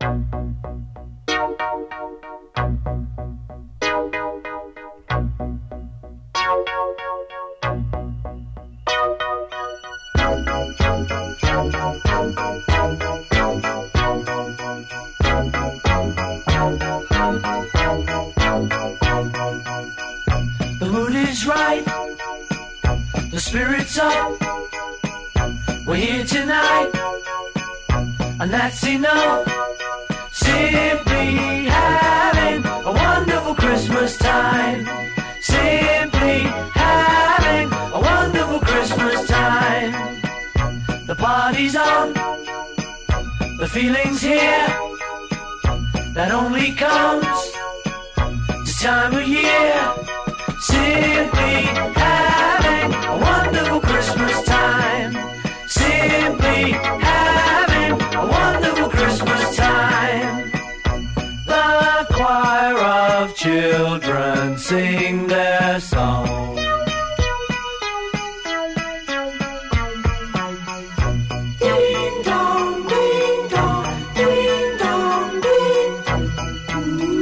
The mood is right, the spirit's up. We're here tonight, and that's enough. Simply having a wonderful Christmas time. Simply having a wonderful Christmas time. The party's on, the feeling's here. That only comes this time of year. Simply having a wonderful Christmas time. Simply having a wonderful Christmas time. The choir of children sing their song. Ding dong, ding dong, ding dong, ding.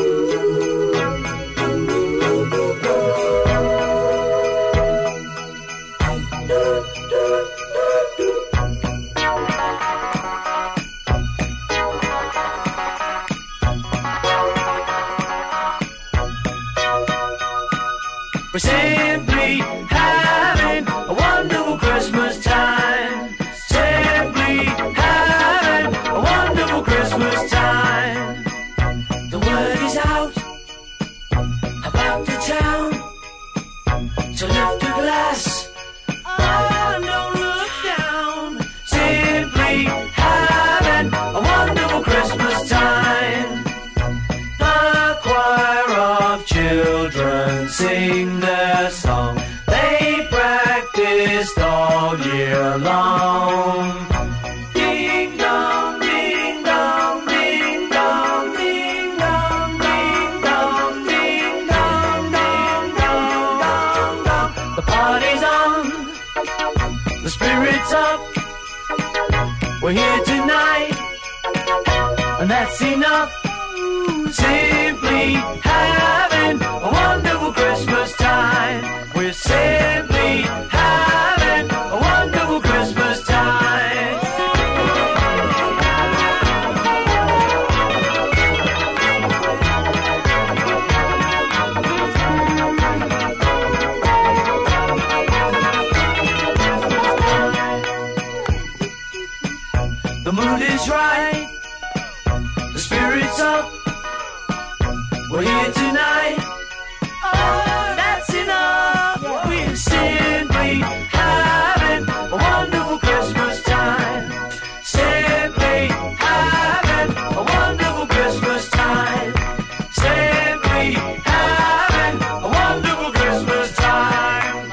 We're simply having a wonderful Christmas time. Simply having a wonderful Christmas time. The word is out about the town to lift a glass. Oh, don't look down. Simply having a wonderful Christmas time. The choir of children sing their song. They practiced all year long. Ding dong, ding dong, ding dong, ding dong, ding dong, ding dong, ding dong, dong, dong. The party's on, the spirit's up. We're here tonight, and that's enough. Simply having a wonderful Christmas time. We're simply having a wonderful Christmas time. The mood is right, the spirit's up. We're here tonight. Oh, that's enough. We're simply having a wonderful Christmas time. Simply having a wonderful Christmas time. Simply having a wonderful Christmas time.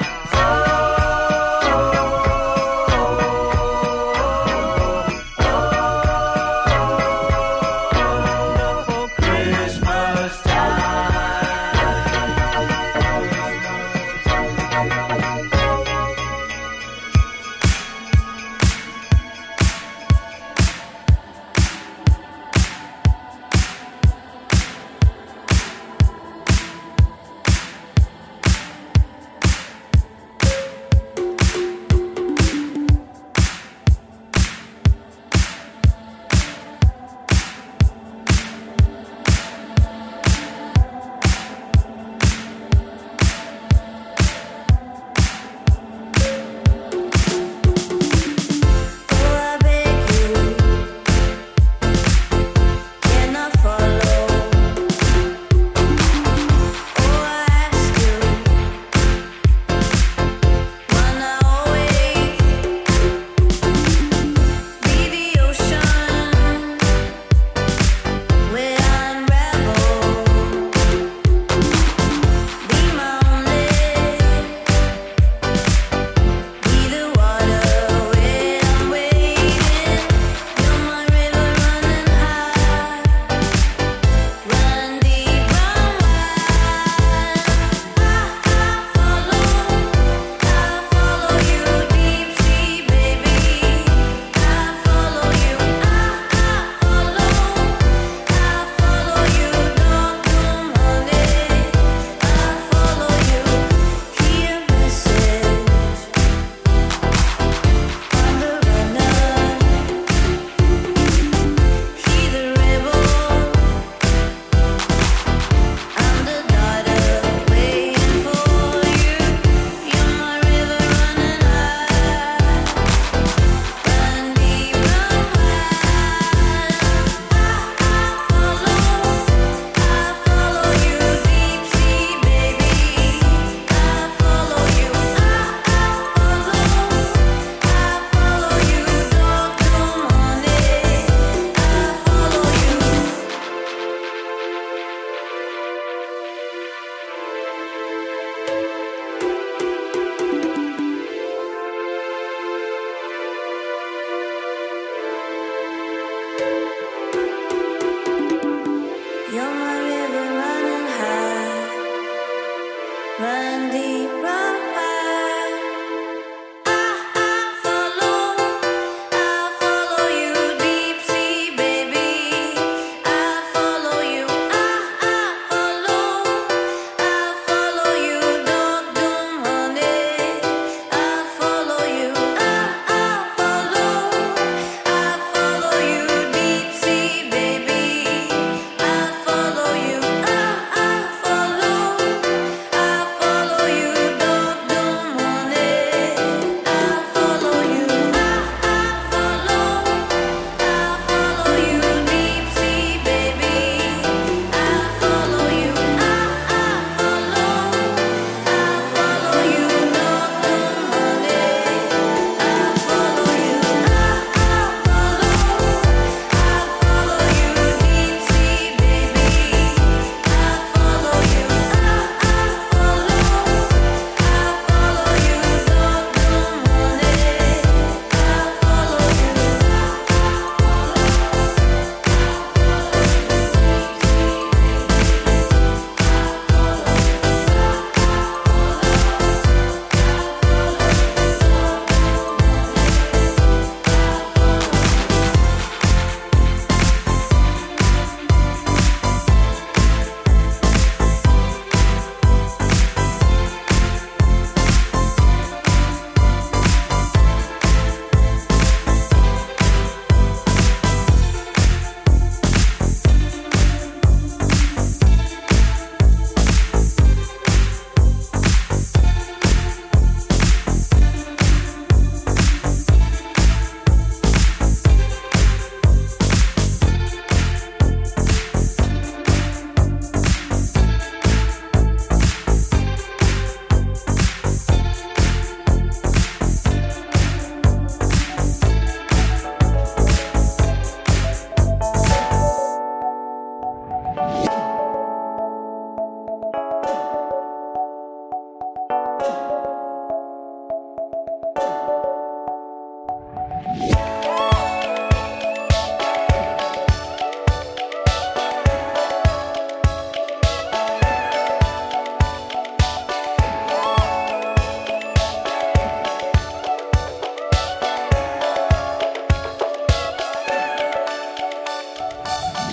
Wonderful Christmas time.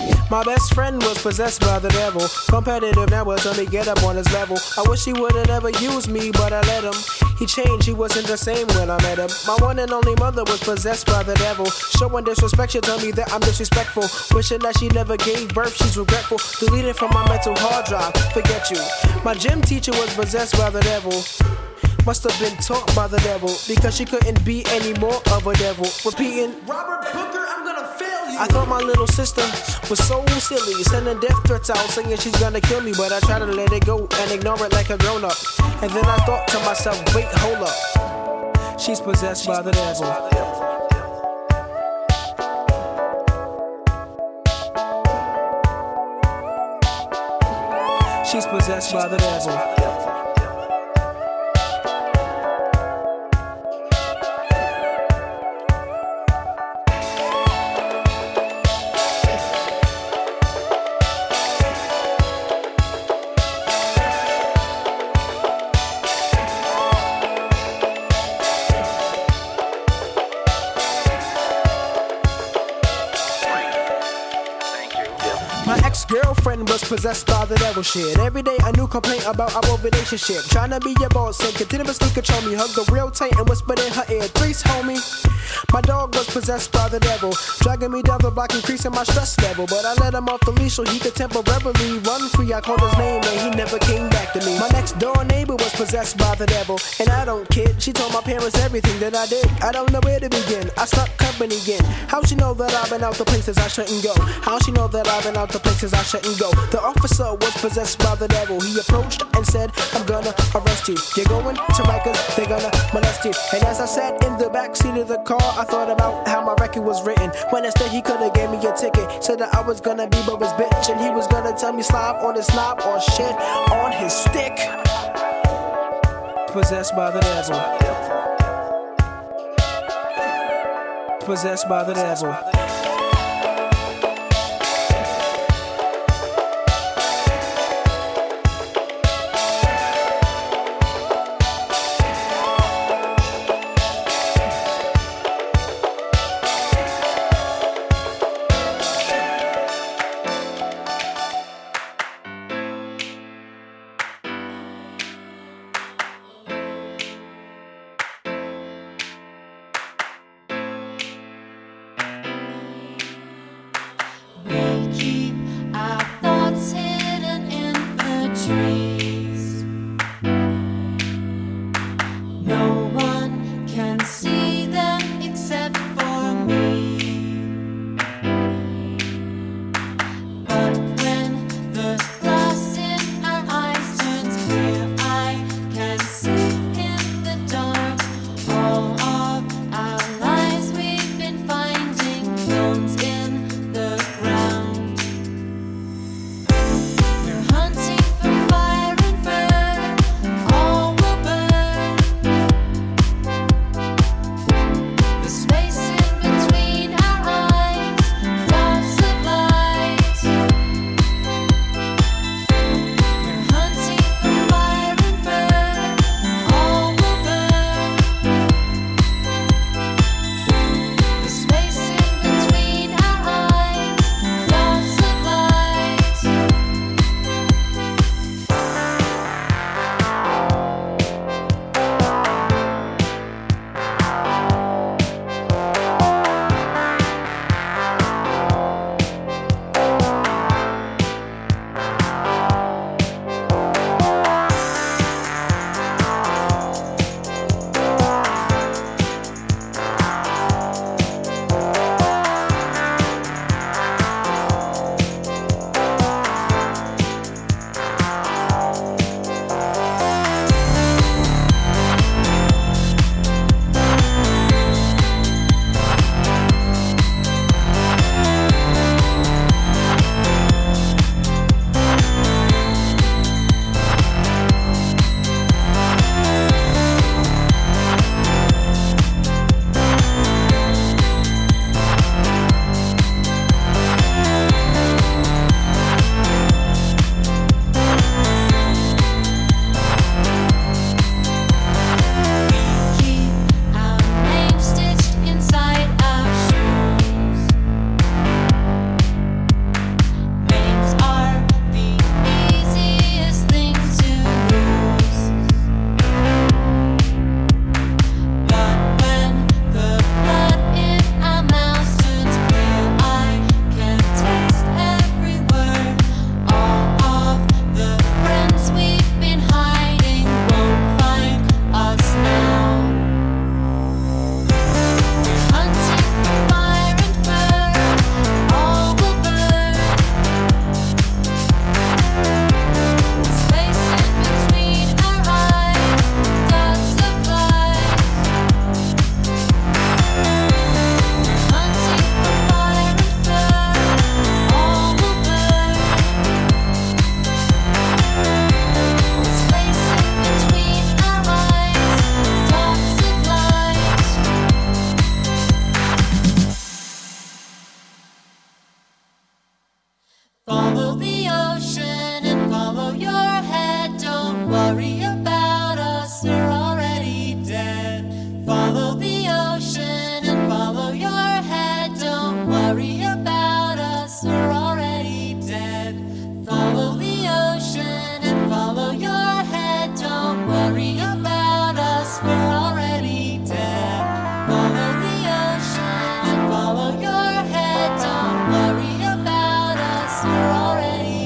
My best friend was possessed by the devil. Competitive now was only get up on his level. I wish he would've never used me, but I let him. He changed, he wasn't the same when I met him. My one and only mother was possessed by the devil. Showing disrespect, she told me that I'm disrespectful. Wishing that she never gave birth, she's regretful. Deleted from my mental hard drive, forget you. My gym teacher was possessed by the devil. Must have been taught by the devil, because she couldn't be any more of a devil. Repeating, Robert Booker, I'm gonna fail you. I thought my little sister was so silly, sending death threats out, saying she's gonna kill me. But I tried to let it go and ignore it like a grown up. And then I thought to myself, wait, hold up. She's possessed by the devil. She's possessed by the devil. My ex-girlfriend was possessed by the devil shit. Every day a new complaint about our relationship. Trying to be your boss and continuously control me. Hugged her real tight and whispered in her ear, "Threes, homie." My dog was possessed by the devil, dragging me down the block, increasing my stress level. But I let him off the leash so he could temporarily run free. I called his name and he never came back to me. My next door neighbor was possessed by the devil, and I don't kid. She told my parents everything that I did. I don't know where to begin. I stopped company again. How she know that I've been out the places I shouldn't go? How she know that I've been out the places I shouldn't go? The officer was possessed by the devil. He approached and said, "I'm gonna arrest you. You're going to Rikers, they're gonna molest you." And as I sat in the backseat of the car, I thought about how my record was written. When instead he could've gave me a ticket, said that I was gonna be Bubba's bitch, and he was gonna tell me slob on his knob or shit on his stick. Possessed by the devil. Possessed by the devil. Follow the ocean and follow your head. Don't worry about us, we're already dead. Follow the ocean and follow your head. Don't worry about us, we're already dead. Follow the ocean and follow your head. Don't worry about us, we're already dead. Follow the ocean and follow your head. Don't worry about us, we're already